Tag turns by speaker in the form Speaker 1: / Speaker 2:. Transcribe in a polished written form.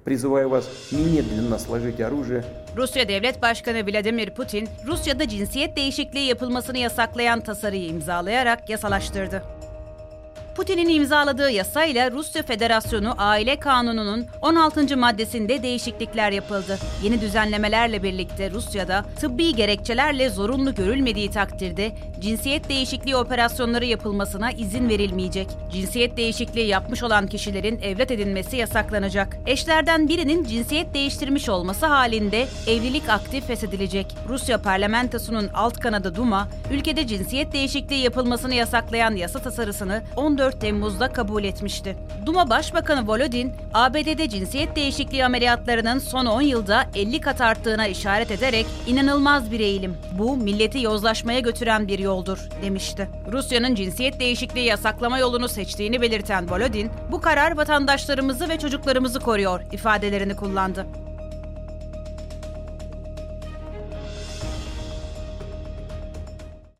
Speaker 1: Призываю вас немедленно сложить оружие.
Speaker 2: Rusya Devlet Başkanı Vladimir Putin, Rusya'da cinsiyet değişikliği yapılmasını yasaklayan tasarıyı imzalayarak yasalaştırdı. Putin'in imzaladığı yasayla Rusya Federasyonu Aile Kanunu'nun 16. maddesinde değişiklikler yapıldı. Yeni düzenlemelerle birlikte Rusya'da tıbbi gerekçelerle zorunlu görülmediği takdirde cinsiyet değişikliği operasyonları yapılmasına izin verilmeyecek. Cinsiyet değişikliği yapmış olan kişilerin evlat edinmesi yasaklanacak. Eşlerden birinin cinsiyet değiştirmiş olması halinde evlilik aktif feshedilecek. Rusya parlamentosunun alt kanadı Duma, ülkede cinsiyet değişikliği yapılmasını yasaklayan yasa tasarısını 14 Temmuz'da kabul etmişti. Duma Başbakanı Volodin, ABD'de cinsiyet değişikliği ameliyatlarının son 10 yılda 50 kat arttığına işaret ederek "İnanılmaz bir eğilim. Bu milleti yozlaşmaya götüren bir yoldur," demişti. Rusya'nın cinsiyet değişikliği yasaklama yolunu seçtiğini belirten Volodin, "Bu karar vatandaşlarımızı ve çocuklarımızı koruyor," ifadelerini kullandı.